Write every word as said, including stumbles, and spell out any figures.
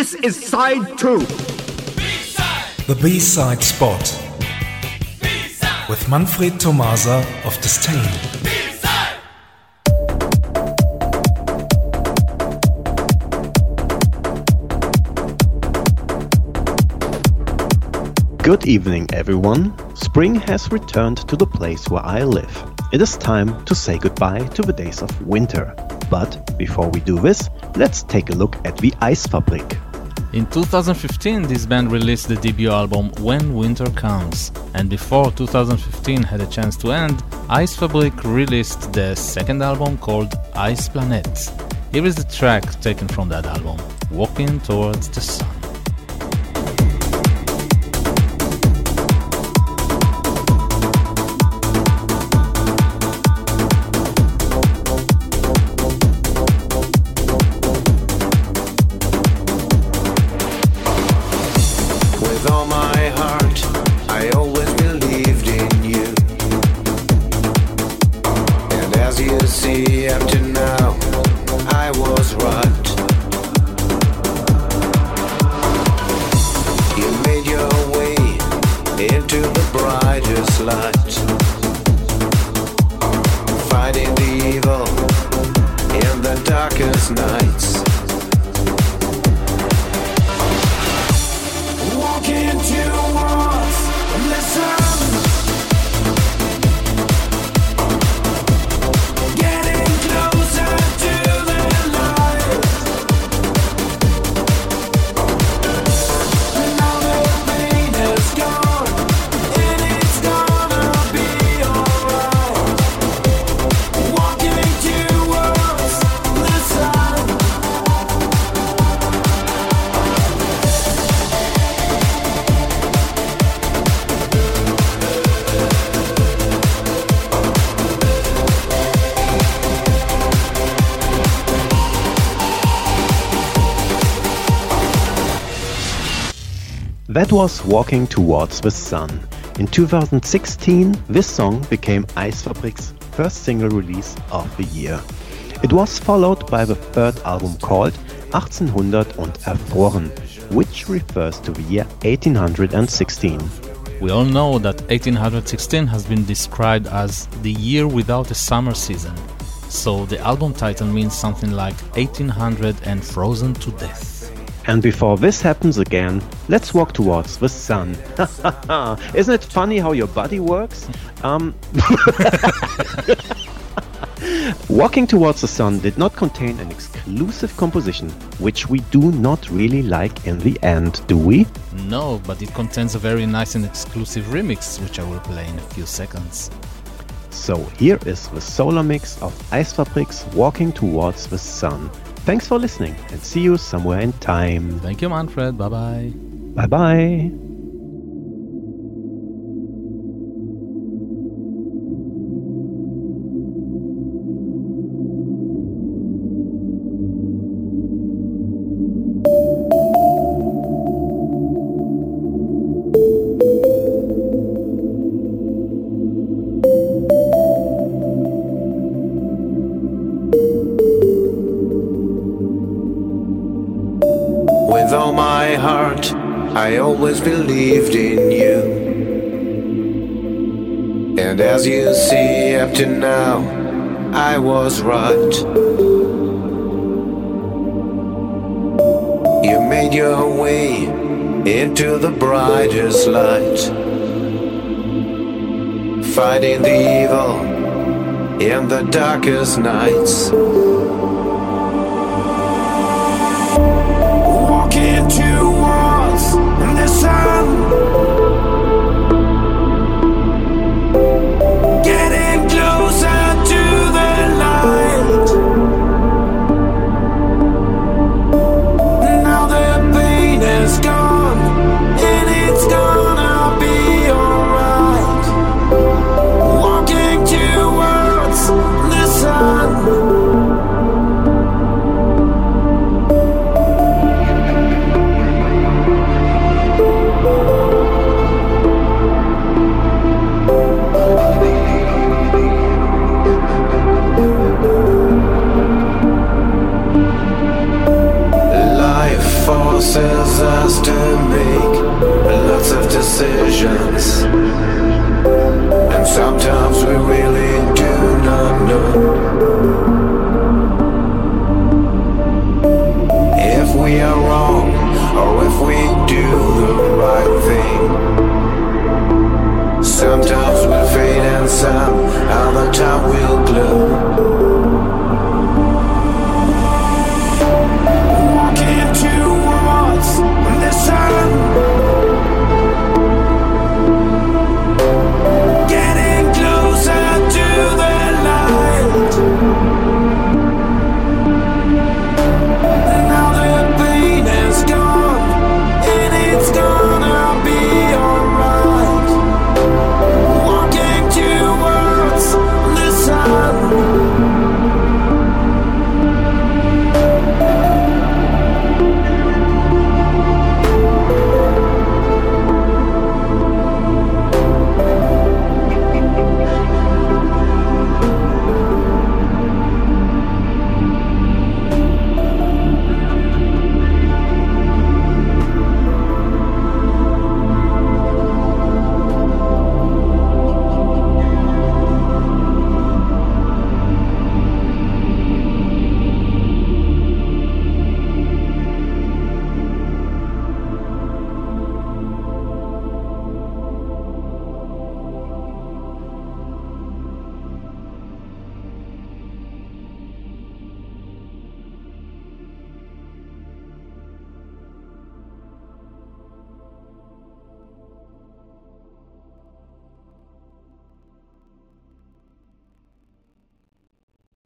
This is side two. B-side. The B-side spot. B-side. With Manfred Tomasa of Disdain. B-side. Good evening, everyone. Spring has returned to the place where I live. It is time to say goodbye to the days of winter. But before we do this, let's take a look at the Eisfabrik. In two thousand fifteen, this band released the debut album When Winter Comes. And before two thousand fifteen had a chance to end, Eisfabrik released the second album called Ice Planet. Here is the track taken from that album, Walking Towards the Sun. That was Walking Towards the Sun. In two thousand sixteen, this song became Eisfabrik's first single release of the year. It was followed by the third album called achtzehnhundert und erfroren, which refers to the year eighteen sixteen. We all know that eighteen sixteen has been described as the year without a summer season, so the album title means something like eighteen hundred and frozen to death. And before this happens again, let's walk towards the sun. Isn't it funny how your body works? Um, Walking Towards the Sun did not contain an exclusive composition, which we do not really like in the end, do we? No, but it contains a very nice and exclusive remix, which I will play in a few seconds. So here is the solar mix of Eisfabrik's Walking Towards the Sun. Thanks for listening and see you somewhere in time. Thank you, Manfred. Bye-bye. Bye-bye. With all my heart, I always believed in you. And as you see, up to now, I was right. You made your way into the brightest light, fighting the evil in the darkest nights. Walking towards the sun, getting closer to the light. Now the pain is gone, and it's gonna be alright. Walking towards the sun. forces us to make lots of decisions, and sometimes we really do not know if we are wrong or if we do the right thing. Sometimes we'll fade and some other time we'll glow.